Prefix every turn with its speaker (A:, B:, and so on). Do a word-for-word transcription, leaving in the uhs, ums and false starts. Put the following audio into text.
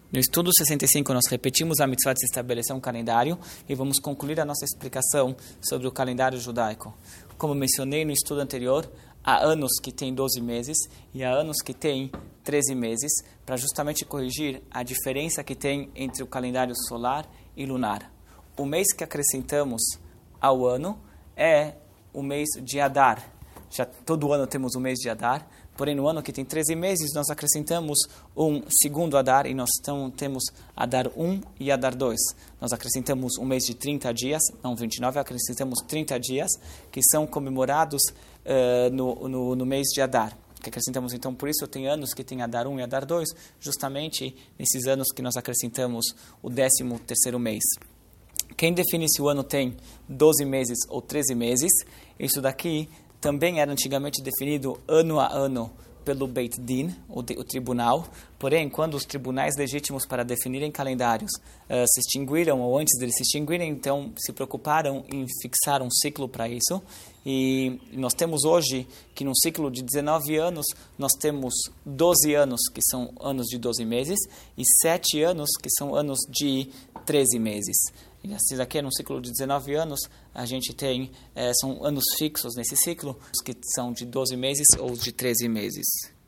A: No estudo sessenta e cinco, nós repetimos a mitzvah de se estabelecer um calendário e vamos concluir a nossa explicação sobre o calendário judaico. Como mencionei no estudo anterior, há anos que tem doze meses e há anos que tem treze meses, para justamente corrigir a diferença que tem entre o calendário solar e lunar. O mês que acrescentamos ao ano é o mês de Adar. Já todo ano temos o mês de Adar, porém no ano que tem treze meses nós acrescentamos um segundo Adar e nós então temos Adar um e Adar dois. Nós acrescentamos um mês de trinta dias, não vinte e nove, acrescentamos trinta dias que são comemorados uh, no, no, no mês de Adar. Que acrescentamos então, por isso tem anos que tem Adar um e Adar dois, justamente nesses anos que nós acrescentamos o décimo terceiro mês. Quem define se o ano tem doze meses ou treze meses, isso daqui também era antigamente definido ano a ano pelo Beit Din, o, de, o tribunal. Porém, quando os tribunais legítimos para definirem calendários uh, se extinguiram, ou antes deles se extinguirem, então se preocuparam em fixar um ciclo para isso. E nós temos hoje que num ciclo de dezenove anos, nós temos doze anos que são anos de doze meses e sete anos que são anos de treze meses. E assim daqui, num ciclo de dezenove anos, a gente tem, é, são anos fixos nesse ciclo, que são de doze meses ou de treze meses.